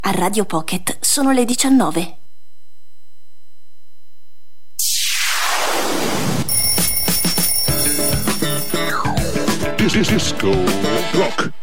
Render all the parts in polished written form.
A Radio Pocket sono le 19. Disco Rock.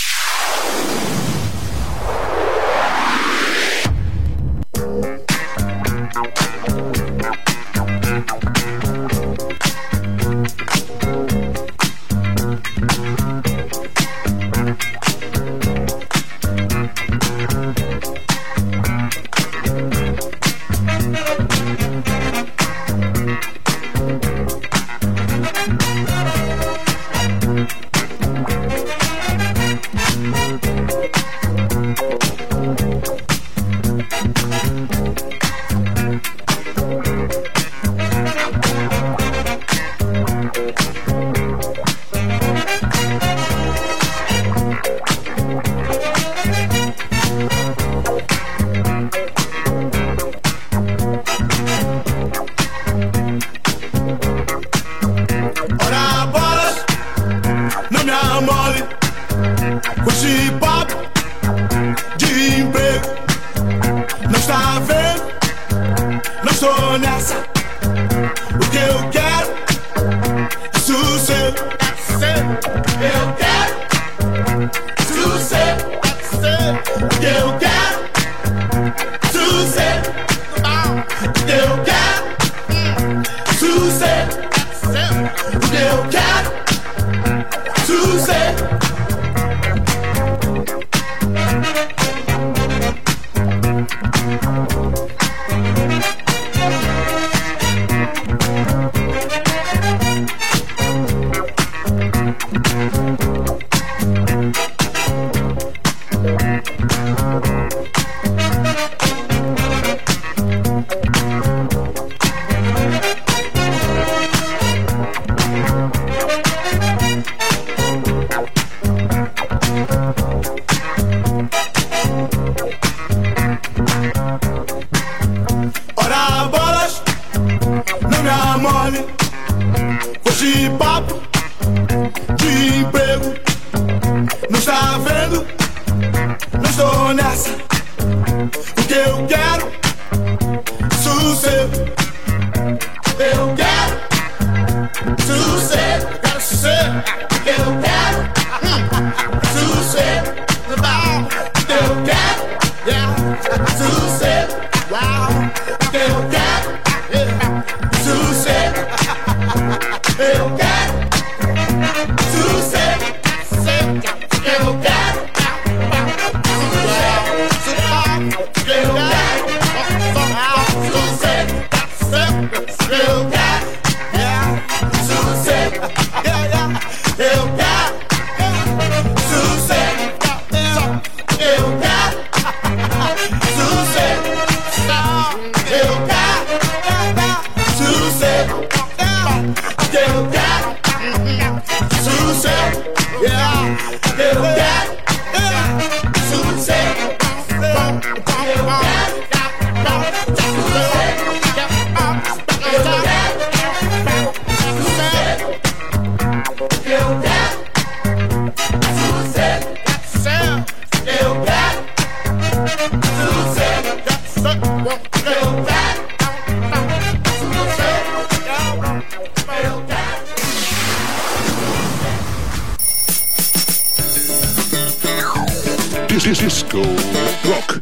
Disco Rock.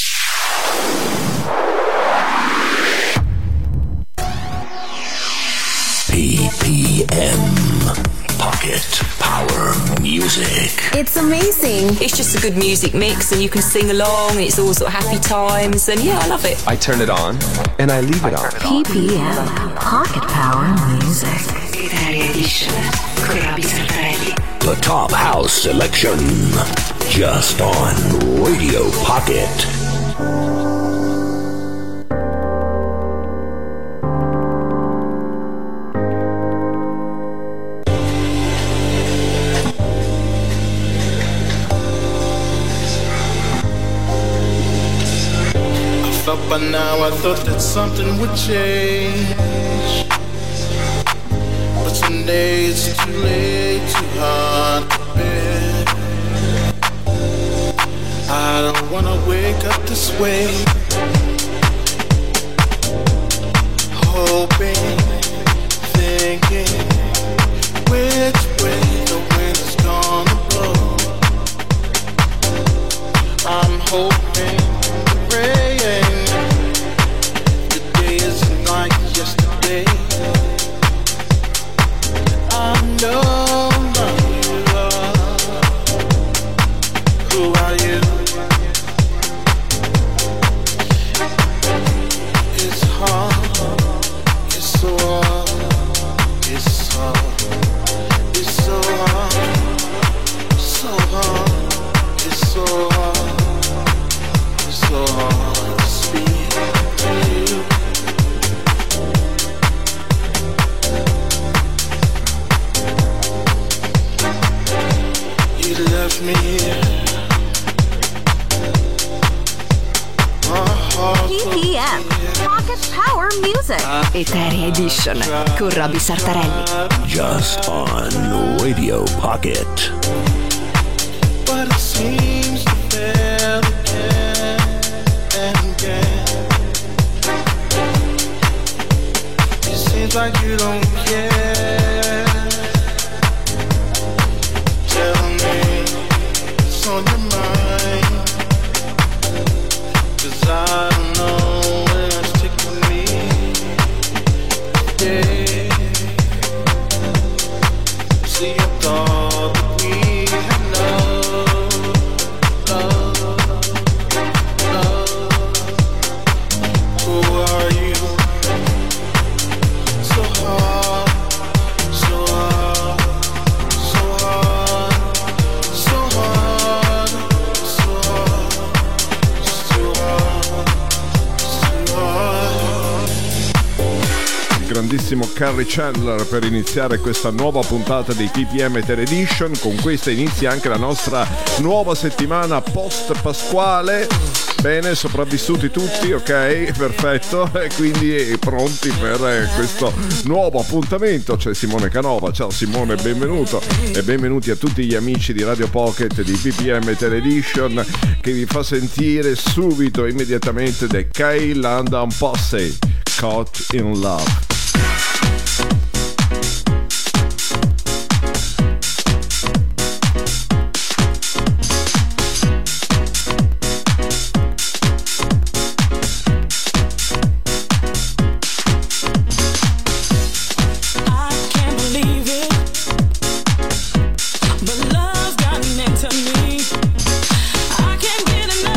PPM Pocket Power Music. It's amazing. It's just a good music mix and you can sing along. It's all sort of happy times and yeah, I love it. I turn it on and I leave it on. PPM Pocket Power Music. The top house selection, just on Radio Pocket. I thought by now, I thought that something would change, but today it's too late, too hard to bear. I I don't wanna wake up this way, hoping, thinking, which way the wind is gonna blow. I'm hoping, praying, the day isn't like yesterday. I know you are. Who are you? It's hard, it's so hard, it's hard, it's so hard, so hard, it's so hard, it's so hard to speak to you. You left me here. PPM, Pocket Power Music. Eteria Edition con Roby Sartarelli. Just on Radio Pocket. But it seems to fail again and again. It seems like you don't care. Tell me what's on your mind, 'cause I don't know where it's taking me. Yeah. See, I thought that we had love, love, love. Who are you? So hard, so hard, so hard, so hard, so hard, so hard, so hard. Il grandissimo Carrie Chandler per iniziare questa nuova puntata di PPM Eteria Edition. Con questa inizia anche la nostra nuova settimana post pasquale. Bene, sopravvissuti tutti, ok, perfetto, e quindi pronti per questo nuovo appuntamento. C'è Simone Canova. Ciao Simone, benvenuto e benvenuti a tutti gli amici di Radio Pocket di PPM Eteria Edition, che vi fa sentire subito, immediatamente, The K-London Posse, Caught in Love.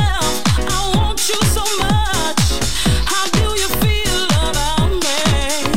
I want you so much. How do you feel about me?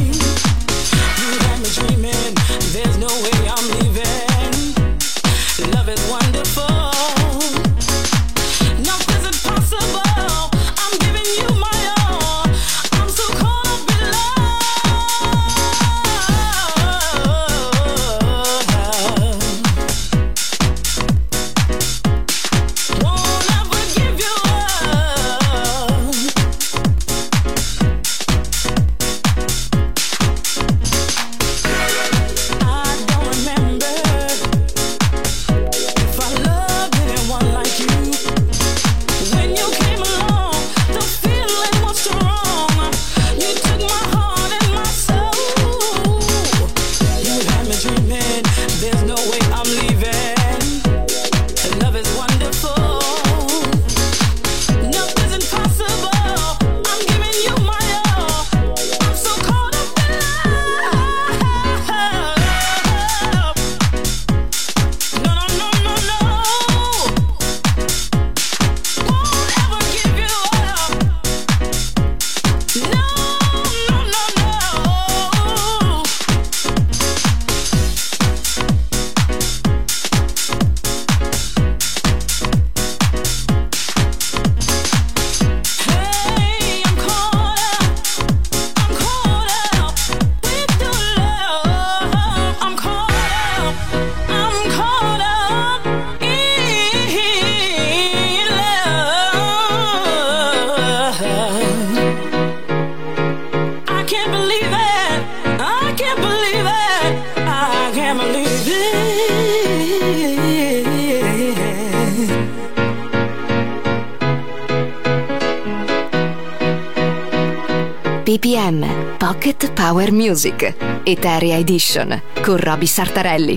PPM, Pocket Power Music, Eteria Edition, con Roby Sartarelli.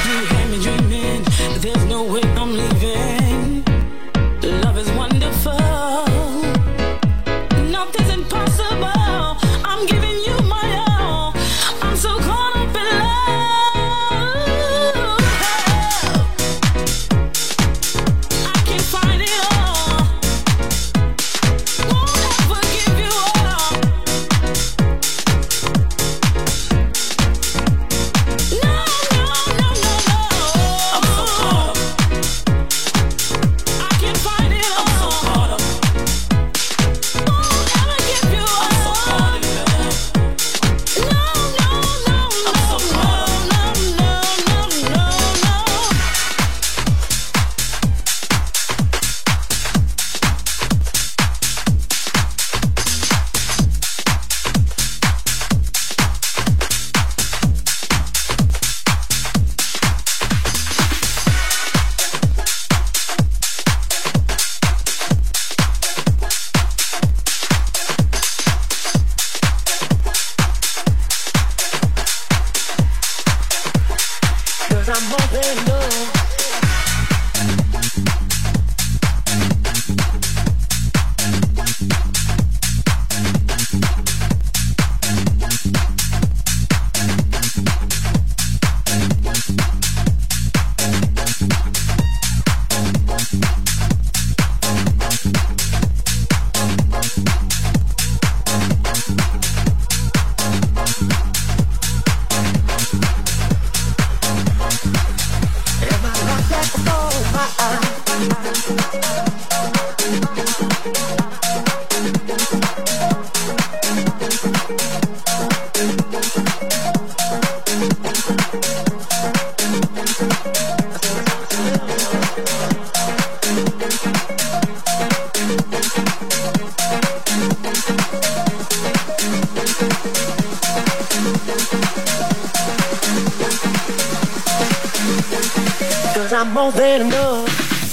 I'm more than enough.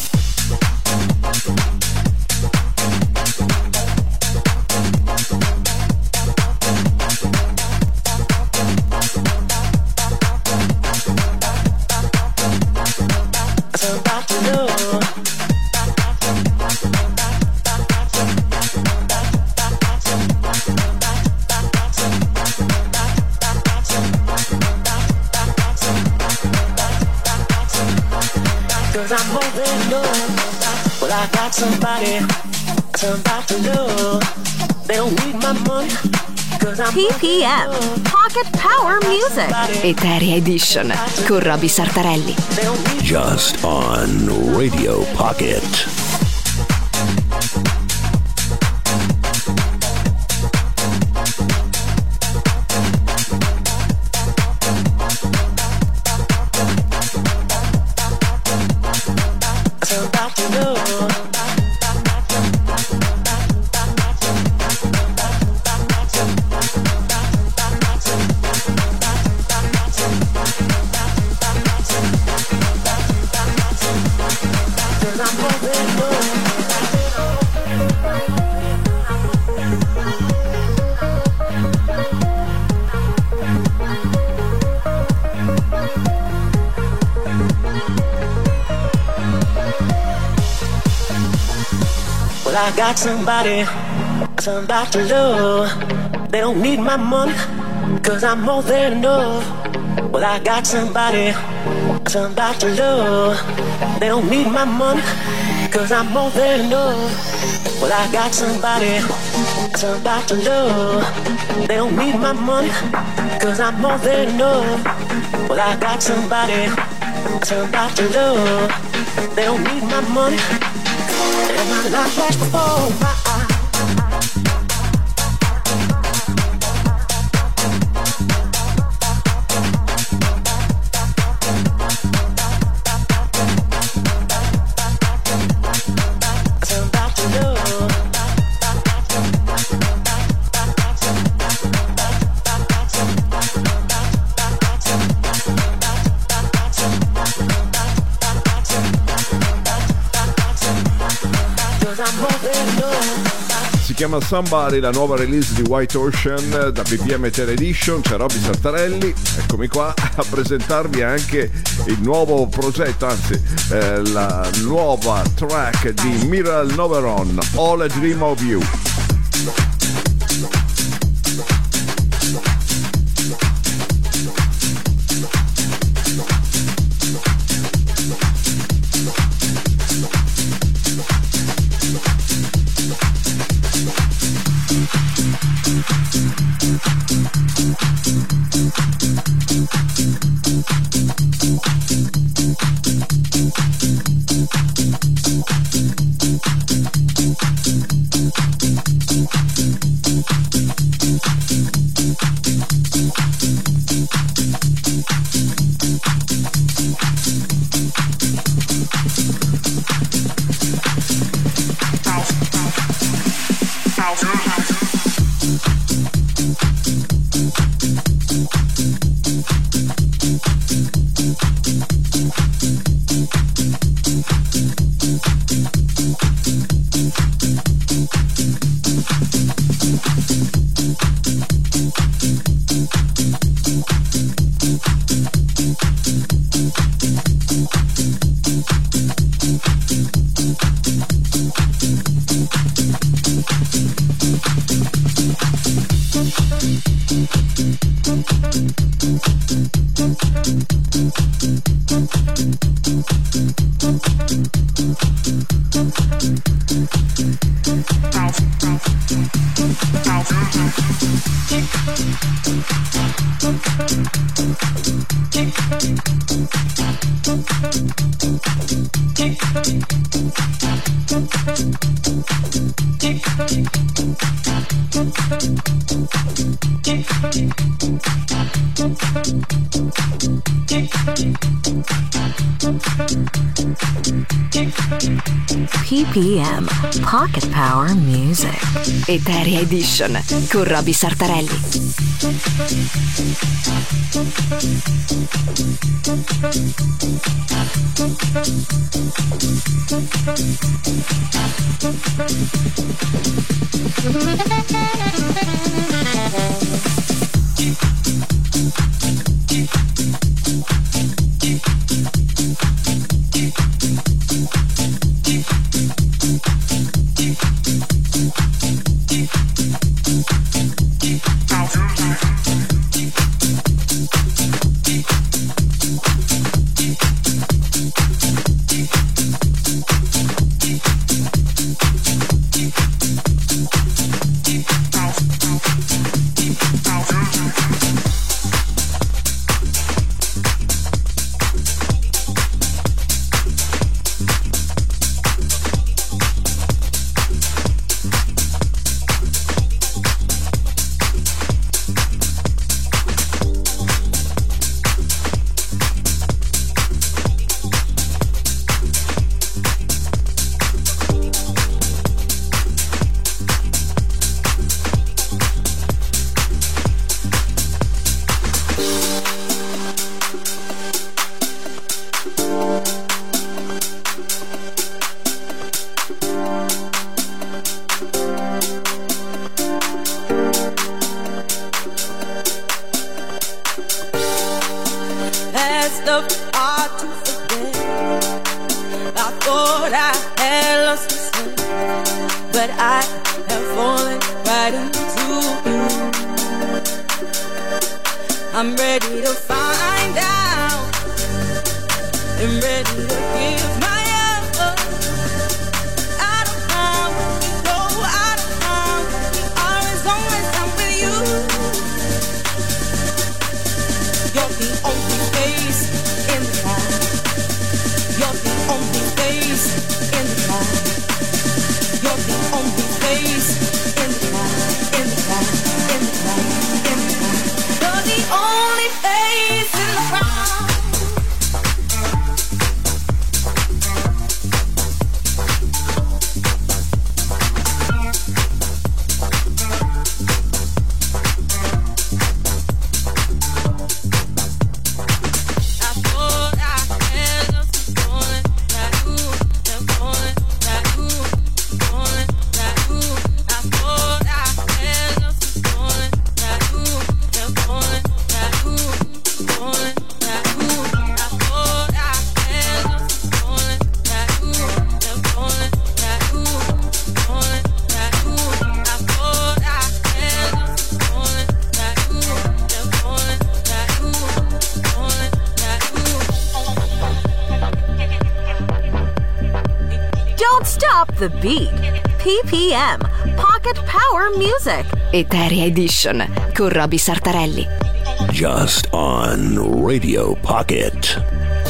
PPM, Pocket Power Music, Eteria Edition, con Roby Sartarelli. Just on Radio Pocket. I got somebody to love. They don't need my money, cause I'm more than enough. Well, I got somebody to love. They don't need my money, cause I'm more than enough. Well, I got somebody to love. They don't need my money, cause I'm more than enough. Well, I got somebody to love. They don't need my money. And my life flashed before my eyes. I'm more than enough. chiama Somebody, la nuova release di White Ocean da BPM Tere Edition. C'è Robby Sartarelli, eccomi qua a presentarvi anche il nuovo progetto, anzi la nuova track di Miral Noveron, All a Dream of You. PPM Pocket Power Music Eteria Edition con Robby Sartarelli. Only face in the crowd. the beat. PPM, Pocket Power Music. Eteria Edition con Roby Sartarelli. Just on Radio Pocket.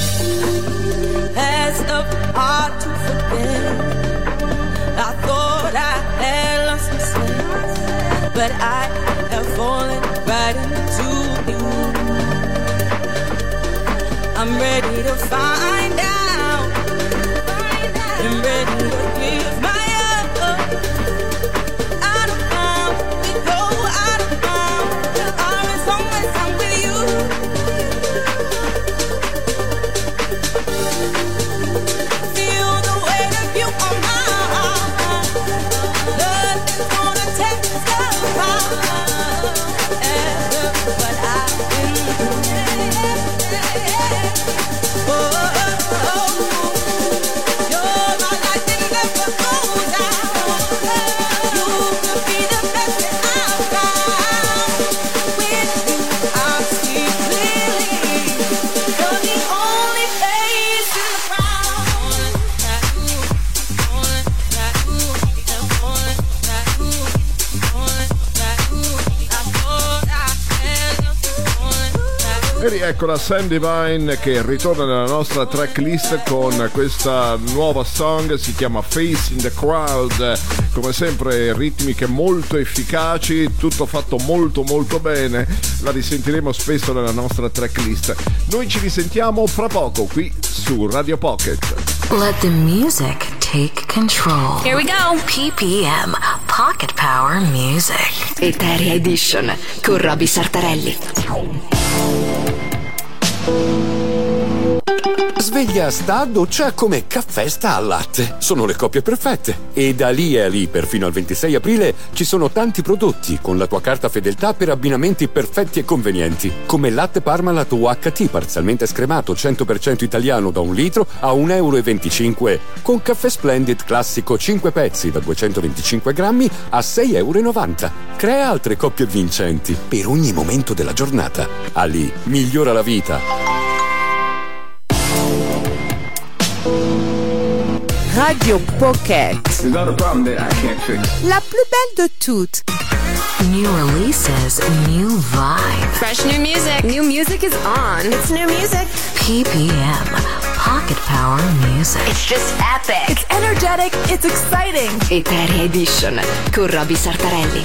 As of hard to forget, I thought I had lost my sense, but I have fallen right into you. I'm ready to find out, I'm ready to give my all. Out of bounds, we go out of bounds, as long as I'm with you. Feel the weight of you on my heart. Nothing's gonna take us apart. After what I've been through. You're my life and never goes out. You could be the best that I've found. With you I see clearly. You're the only face in the crowd. E rieccola Sam Divine che ritorna nella nostra tracklist con questa nuova song, si chiama Face in the Crowd. Come sempre ritmiche molto efficaci, tutto fatto molto molto bene, la risentiremo spesso nella nostra tracklist. Noi ci risentiamo fra poco qui su Radio Pocket. Let the music take control. Here we go. PPM, Pocket Power Music. Eteria Edition con Roby Sartarelli. Sveglia sta, doccia come caffè sta al latte. Sono le coppie perfette. E da lì a lì, perfino al 26 aprile, ci sono tanti prodotti con la tua carta fedeltà per abbinamenti perfetti e convenienti. Come latte Parmalat UHT parzialmente scremato 100% italiano da 1 litro a €1,25 con caffè Splendid classico 5 pezzi da 225 grammi a €6,90. Crea altre coppie vincenti per ogni momento della giornata. Ali migliora la vita. Radio Pocket. There's not a problem that I can't fix. La plus belle de toutes. New releases, new vibe. Fresh new music. New music is on. It's new music. PPM, Pocket Power Music. It's just epic. It's energetic. It's exciting. Eteria Edition con Roby Sartarelli.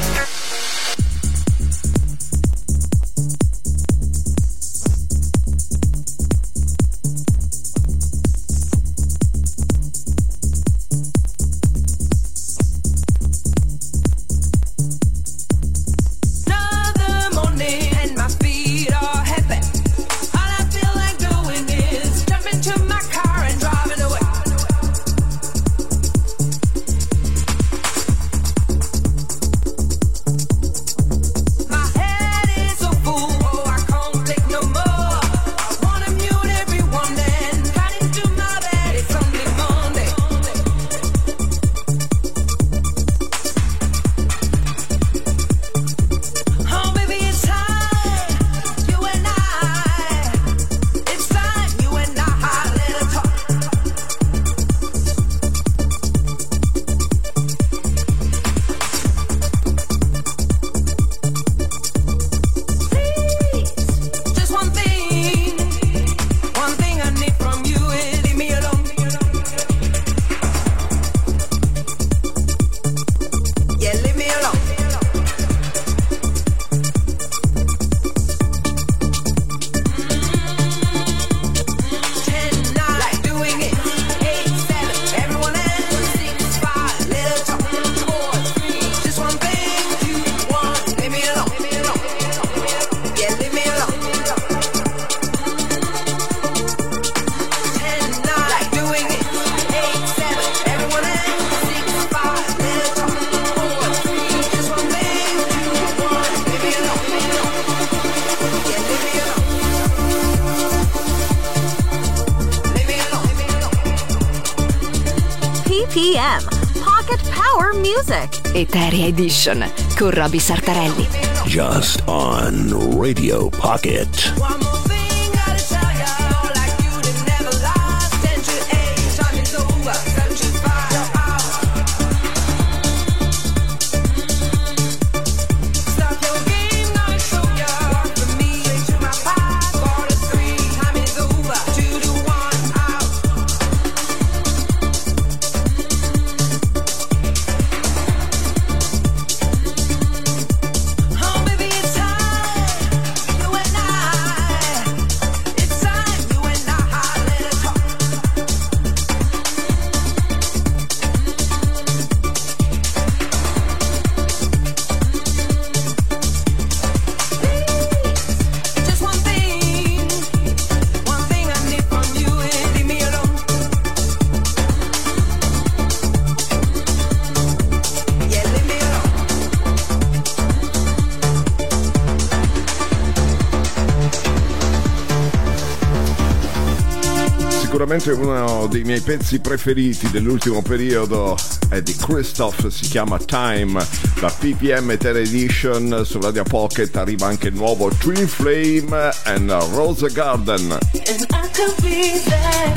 PPM, Pocket Power Music. Eteria Edition con Roby Sartarelli. Just on Radio Pocket. Sicuramente uno dei miei pezzi preferiti dell'ultimo periodo è di Christoph, si chiama Time, la PPM Terra Edition. Su Radio Pocket arriva anche il nuovo Twin Flame and Rose Garden. And I could be there.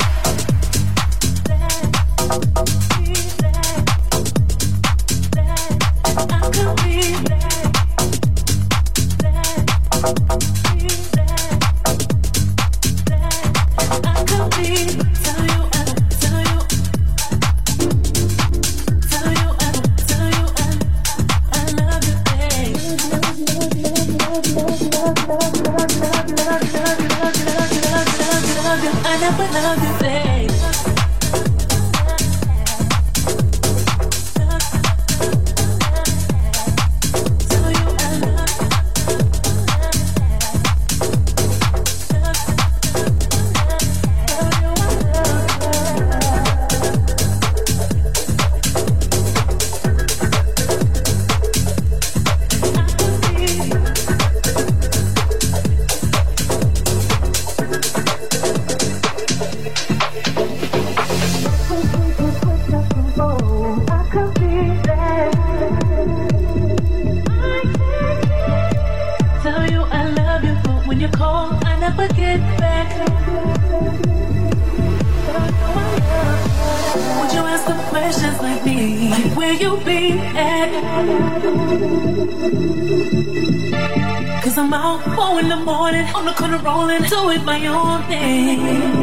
Cause I'm out 4 in the morning, on the corner rolling, doing my own thing.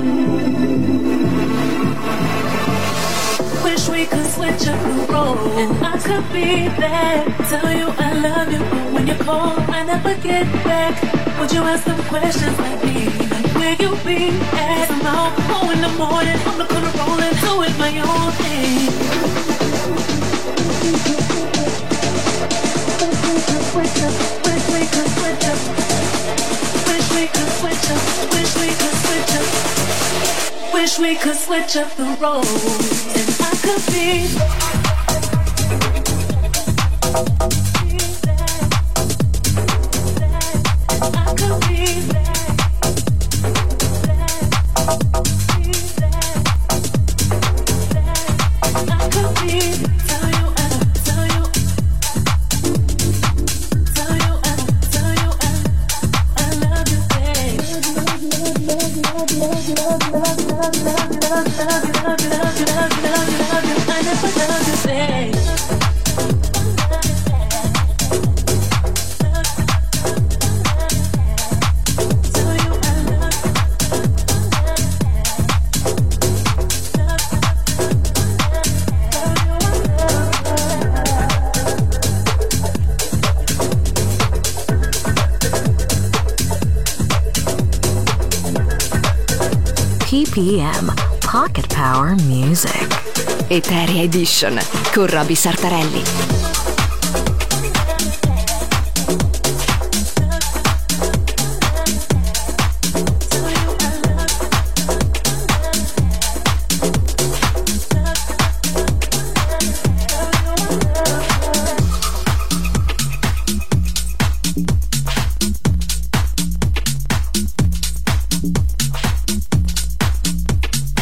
Wish we could switch up the role, and I could be there. Tell you I love you, but when you call, I never get back. Would you ask them questions like me? Like where you be at? I'm out 4 in the morning, on the corner rolling, doing my own thing. Wish we could switch up. Wish we could switch up. Wish we could switch up. Wish we could switch up the roles, and I could be. PPM Pocket Power Music Eteria Edition con Roby Sartarelli.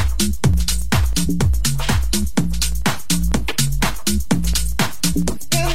Yeah.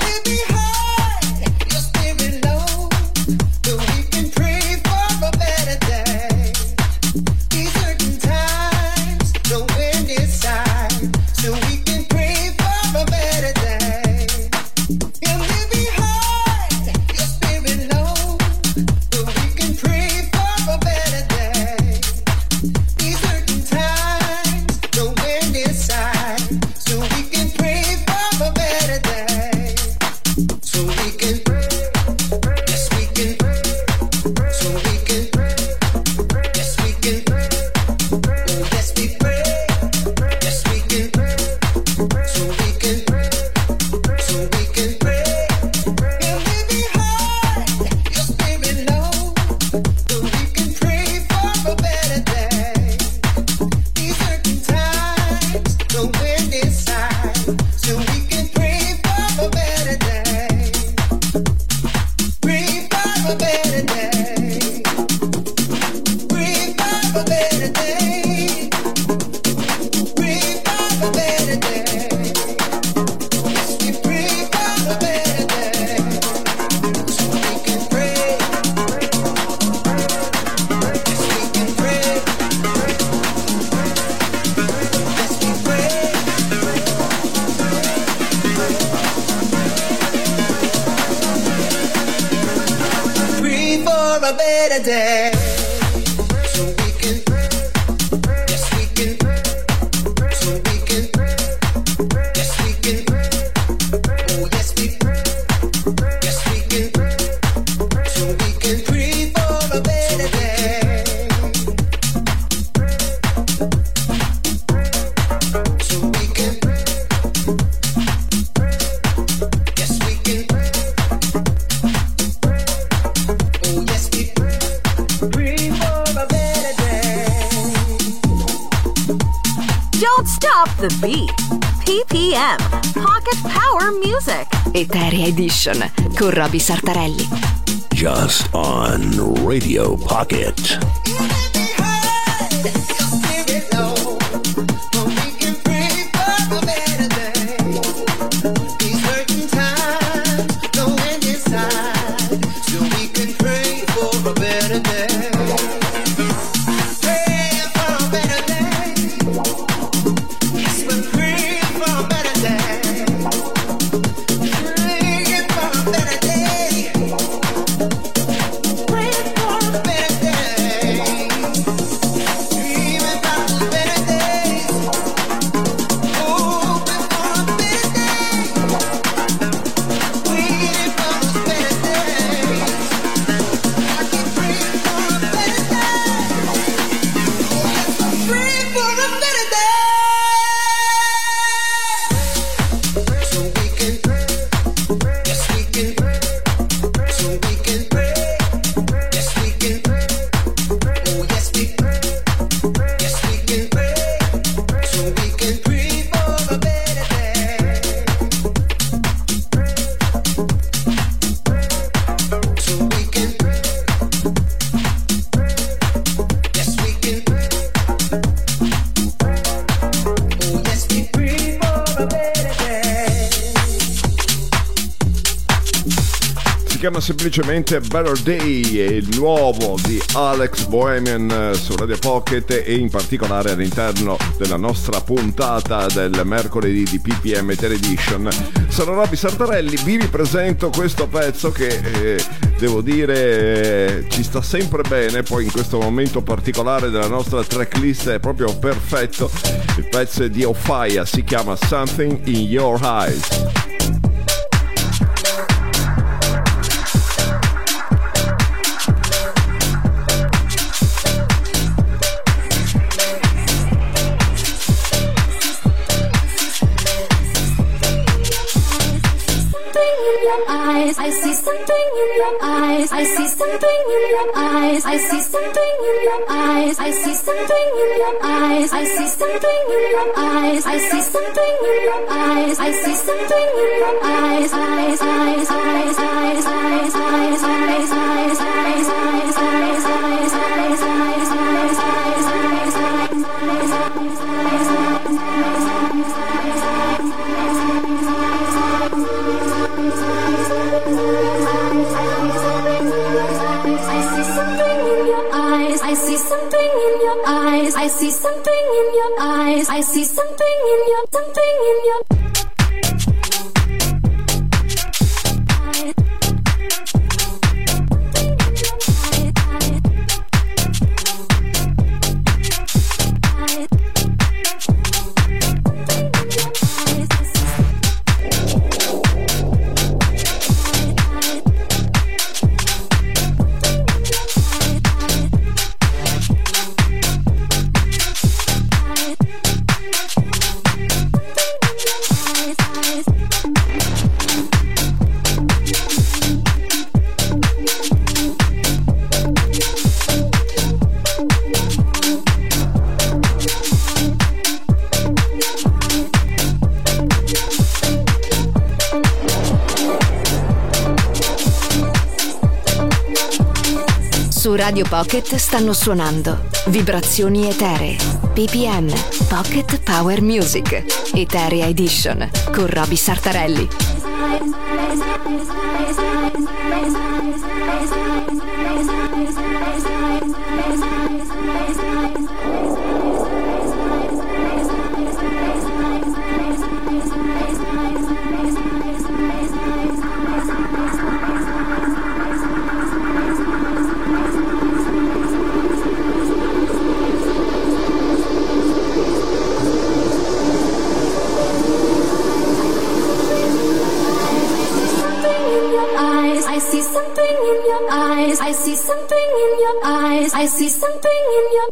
a better day. So we can, yes we can, so we can, yes we can, oh yes we, yes we can, so we can pray for a better day. So we can, yes we can, oh yes we pray for a better day. Don't stop the beat. PPM, Pocket Power Music. Eteria Edition con Roby Sartarelli. Just on Radio Pocket. Semplicemente Better Day è il nuovo di Alex Bohemian su Radio Pocket e in particolare all'interno della nostra puntata del mercoledì di PPM Edition. Sono Roby Sartarelli, vi ripresento questo pezzo che devo dire ci sta sempre bene, poi in questo momento particolare della nostra tracklist è proprio perfetto. Il pezzo è di Ofaya, si chiama Something in Your Eyes. I see something in your eyes. I see something in your eyes. I see something in your eyes. I see something in your eyes. I see something in your eyes. I see something in your eyes. I see something in your eyes. Eyes, eyes, eyes, eyes, eyes, eyes, eyes, eyes, eyes, eyes, eyes, eyes, eyes, eyes, I see something in your eyes. I see something in your eyes. I see something in your something in your Su Radio Pocket stanno suonando Vibrazioni Eteree, PPM, Pocket Power Music, Eteria Edition, con Roby Sartarelli. I see something in your eyes. I see something in your eyes. I see something in your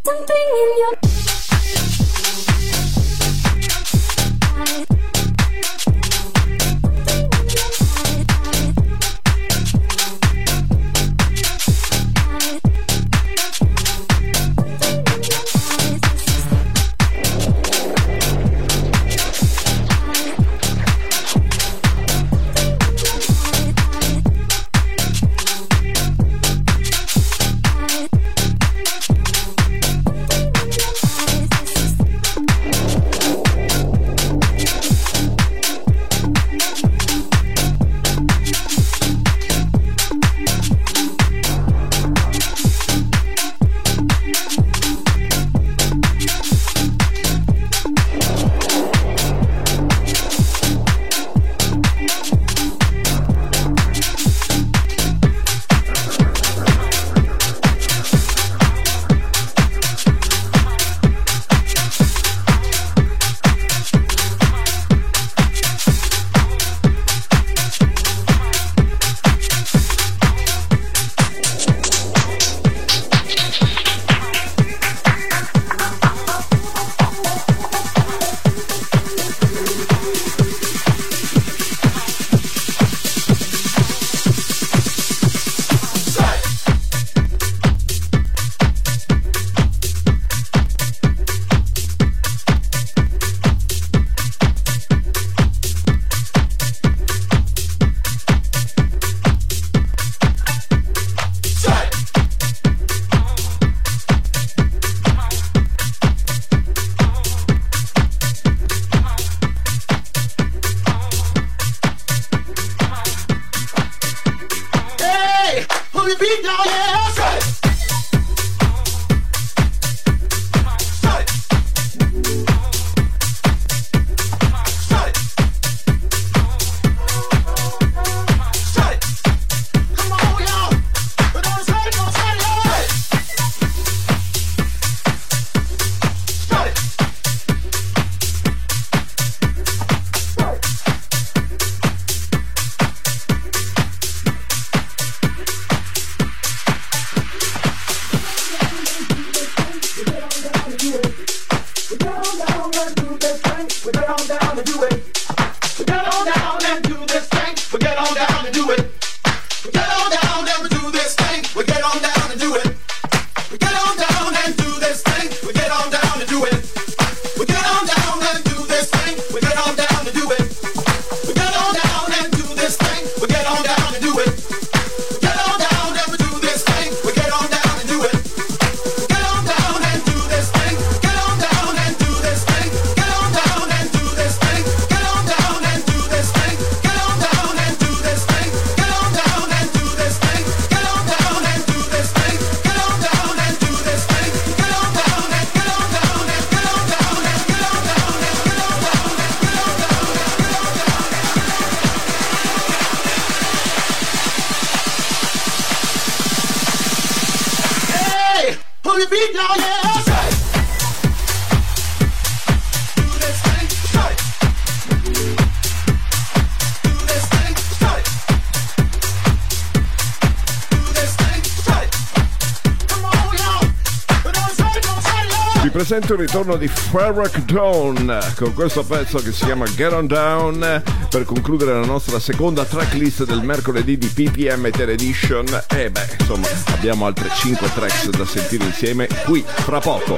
Presento il ritorno di Farrakh Dawn con questo pezzo che si chiama Get On Down per concludere la nostra seconda tracklist del mercoledì di PPM Etere Edition. E insomma abbiamo altre 5 tracks da sentire insieme qui fra poco.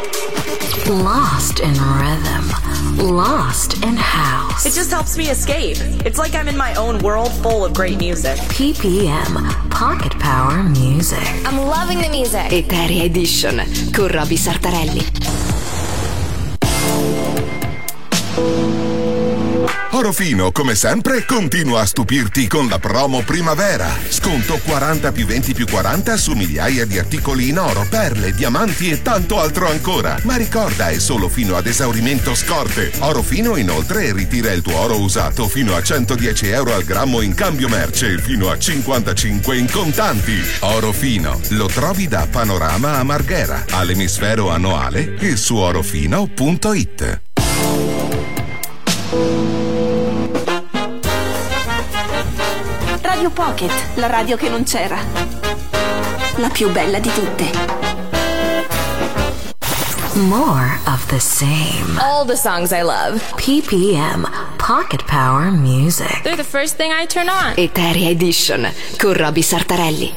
Lost in rhythm, lost in house. It just helps me escape. It's like I'm in my own world full of great music. PPM, Pocket Power Music. I'm loving the music. Eteria Edition con Roby Sartarelli. Orofino, come sempre, continua a stupirti con la promo primavera. Sconto 40 più 20 più 40 su migliaia di articoli in oro, perle, diamanti e tanto altro ancora. Ma ricorda, è solo fino ad esaurimento scorte. Orofino inoltre ritira il tuo oro usato fino a 110 euro al grammo in cambio merce e fino a 55 in contanti. Orofino, lo trovi da Panorama a Marghera, all'emisfero annuale e su orofino.it. Radio Pocket, la radio che non c'era. La più bella di tutte. More of the same. All the songs I love. PPM, Pocket Power Music. They're the first thing I turn on. Eteria Edition con Roby Sartarelli.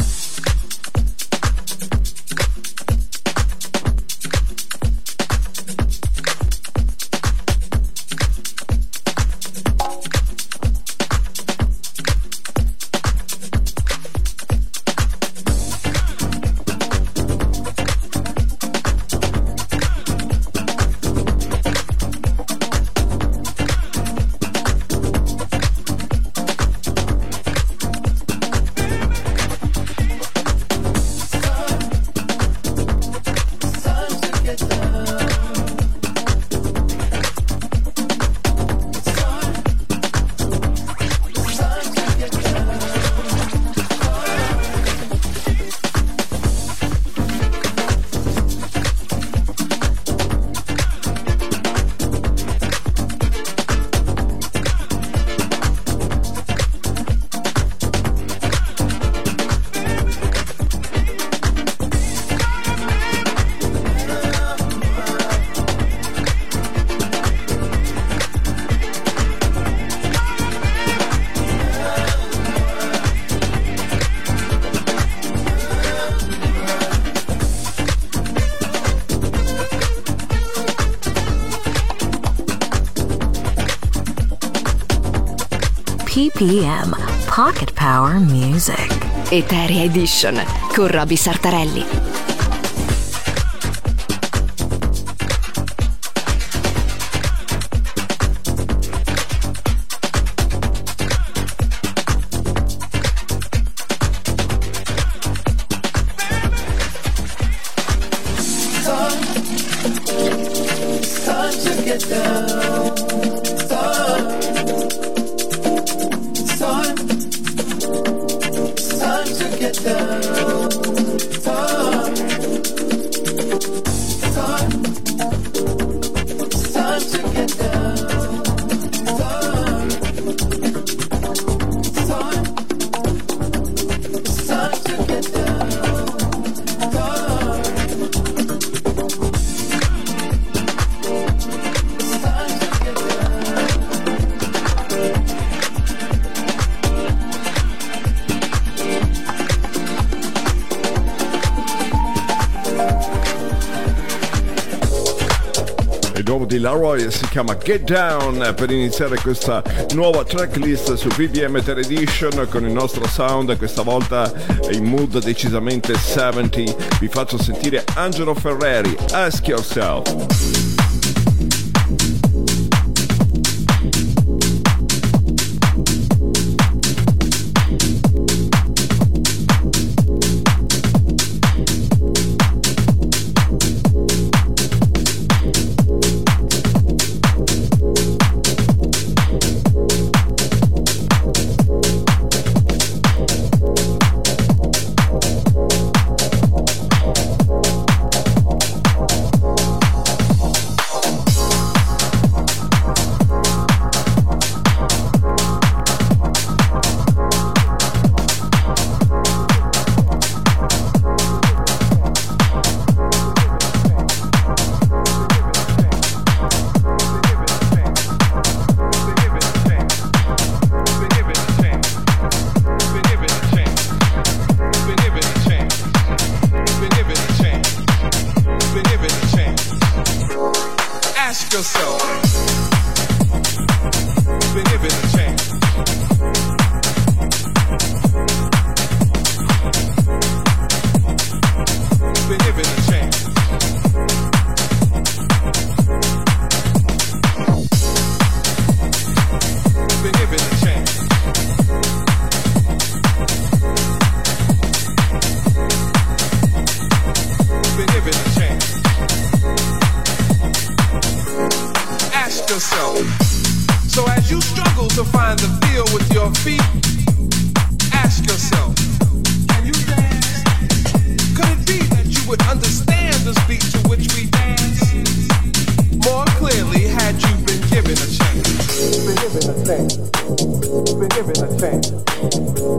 PPM, Pocket Power Music. Eteria Edition con Roby Sartarelli. Di Laroy si chiama Get Down per iniziare questa nuova tracklist su PPM Eteria Edition con il nostro sound, questa volta in mood decisamente 70. Vi faccio sentire Angelo Ferreri, Ask Yourself.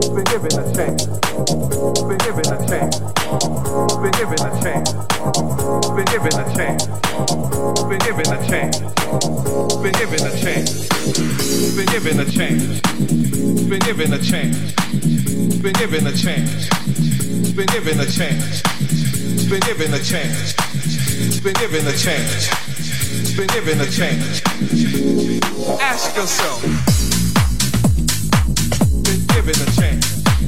been given a chance, been given a chance, been given a chance, been given a chance, been given a chance, been given a chance, been given a chance, been given a chance, been given a chance, been given a chance, been given a chance, been given a chance, been given a chance. Ask yourself, been given a chance.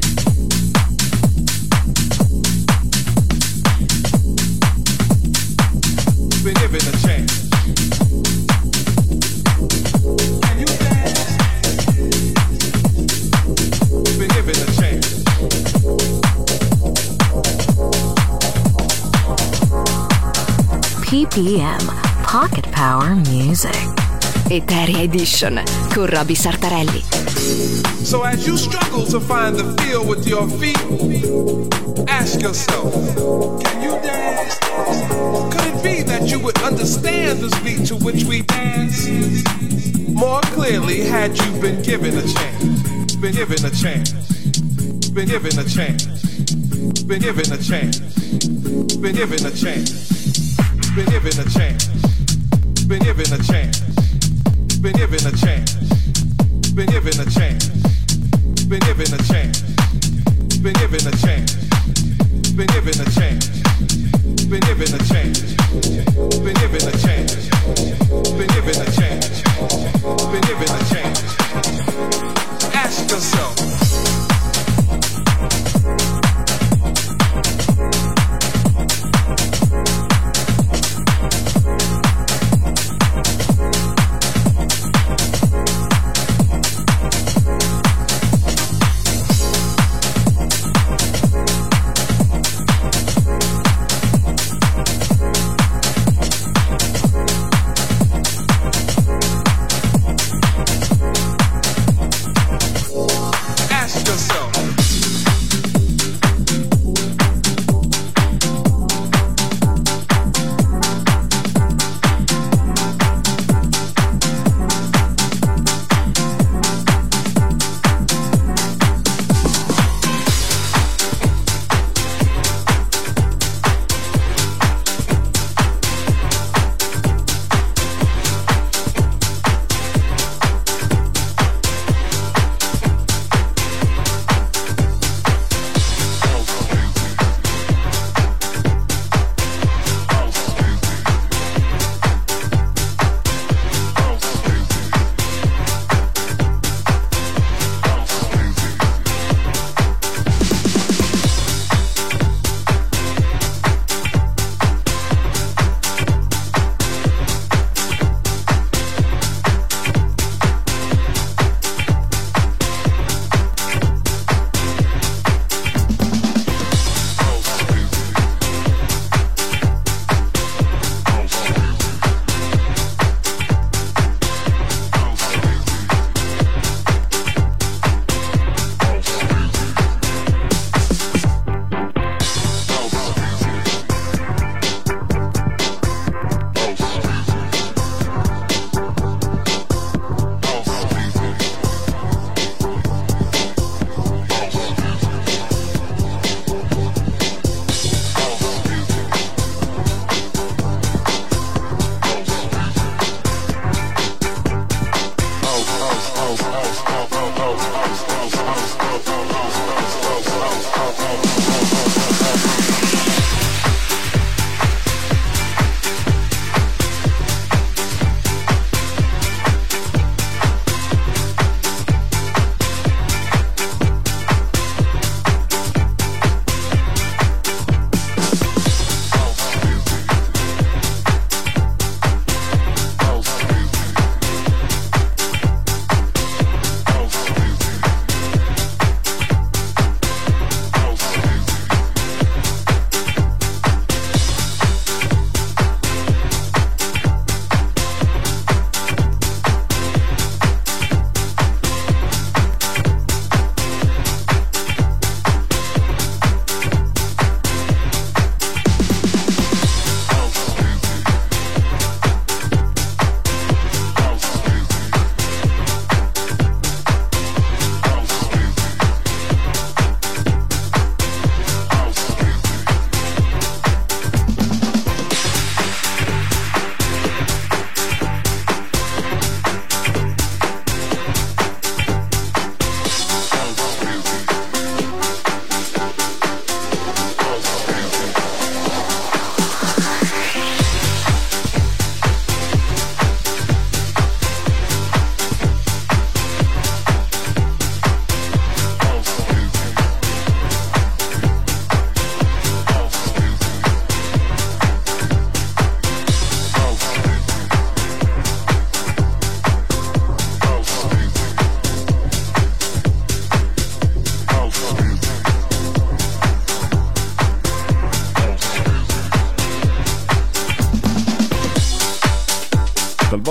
Been given a chance. Can you dance? Been given a chance. PPM, Pocket Power Music. Eteria Edition con Roby Sartarelli. So as you struggle to find the feel with your feet, ask yourself, can you dance? Could it be that you would understand this beat to which we dance more clearly had you been given a chance? Been given a chance. Been given a chance. Been given a chance. Been given a chance. Been given a chance. Been given a chance. Been given a chance. Been given a chance. Been given a chance. Been given a chance. Been given a chance. Been given a chance. Been given a chance. Been given a chance. Been given a chance. Ask yourself.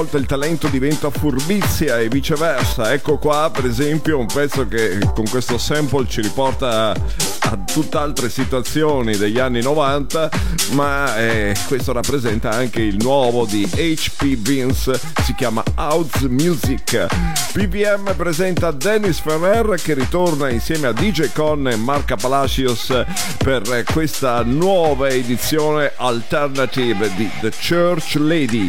volte il talento diventa furbizia e viceversa. Ecco qua per esempio un pezzo che con questo sample ci riporta a tutt'altre situazioni degli anni 90, ma questo rappresenta anche il nuovo di HP Vince, si chiama House Music. PPM presenta Dennis Ferrer che ritorna insieme a DJ Con e Marca Palacios per questa nuova edizione alternative di The Church Lady.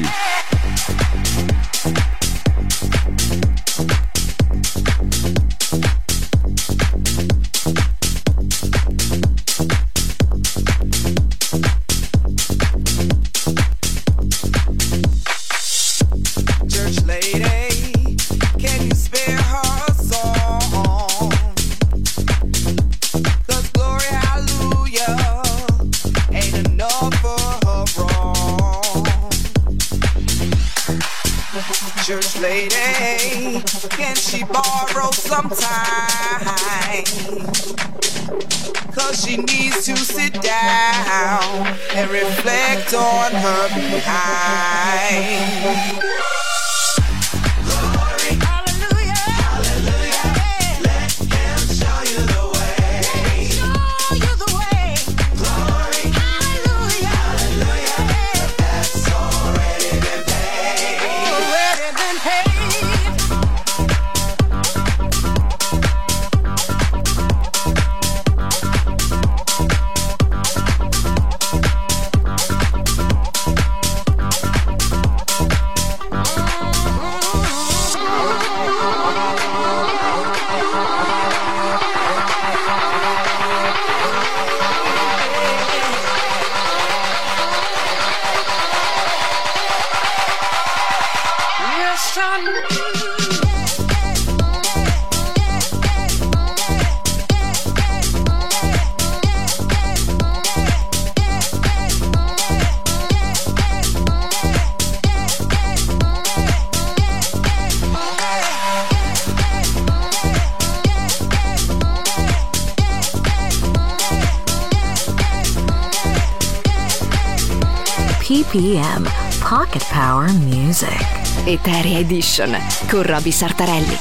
Church lady, can she borrow some time? 'Cause she needs to sit down and reflect on her behind. PPM Pocket Power Music Eteria Edition con Roby Sartarelli.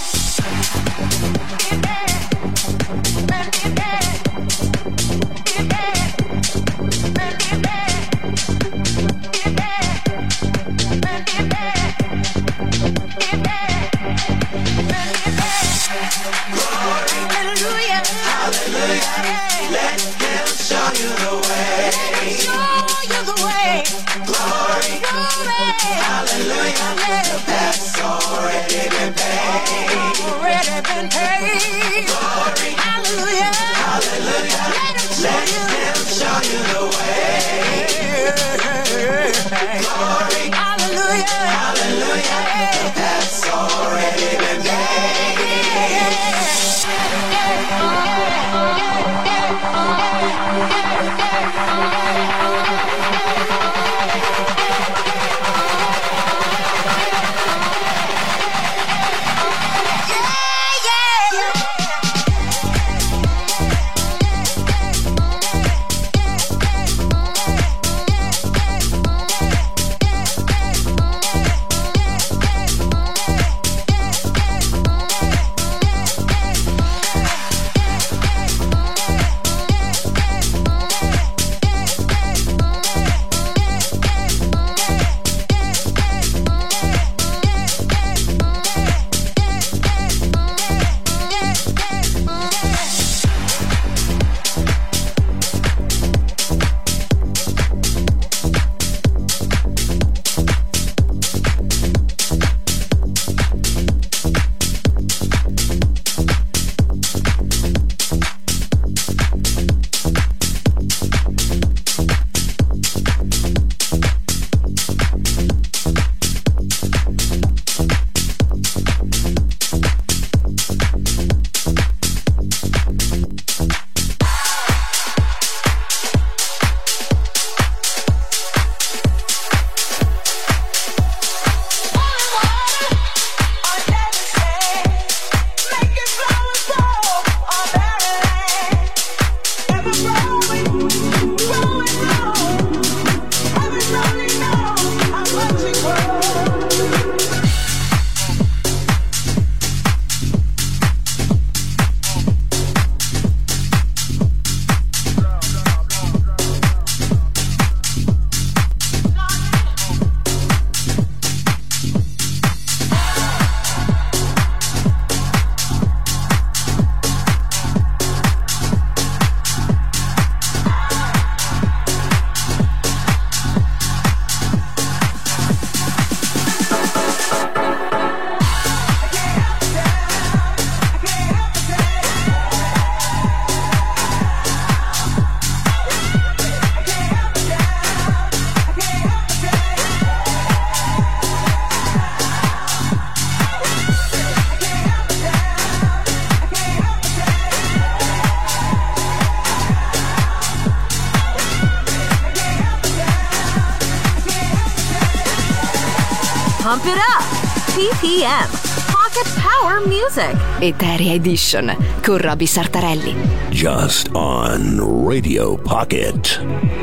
Pump it up. PPM, Pocket Power Music. Eteria Edition con Roby Sartarelli. Just on Radio Pocket.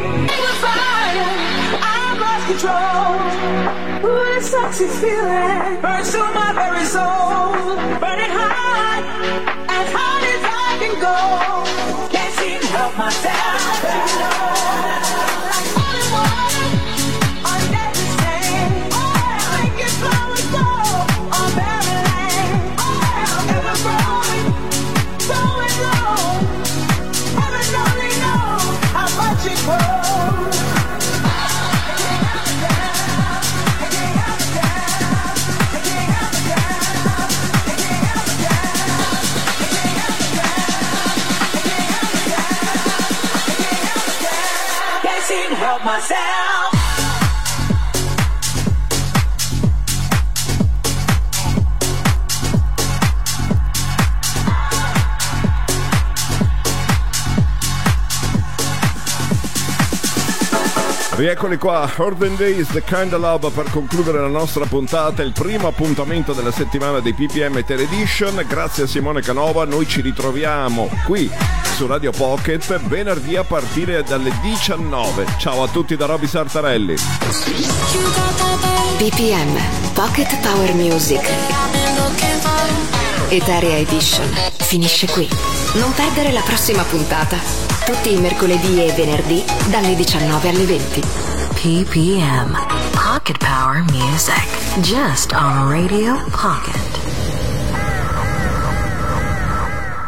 Control. Ooh, this sexy feeling burns through my very soul. Burning hot, as hot as I can go. Can't seem to help myself. Like falling water on deadly sand. Oh, making flowers grow on barren land. Oh, ever growing, going low. Heaven only knows how much it grows. Help myself. Rieccoli qua, Urban Days, The Kind of Love, per concludere la nostra puntata, il primo appuntamento della settimana dei PPM Eteria Edition. Grazie a Simone Canova, noi ci ritroviamo qui su Radio Pocket venerdì a partire dalle 19. Ciao a tutti da Roby Sartarelli. PPM, Pocket Power Music. Eteria Edition finisce qui. Non perdere la prossima puntata. Tutti i mercoledì e venerdì dalle 19 alle 20. PPM, Pocket Power Music. Just on Radio Pocket.